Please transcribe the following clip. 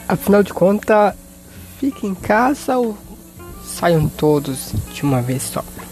Afinal de contas, fique em casa ou saiam todos de uma vez só?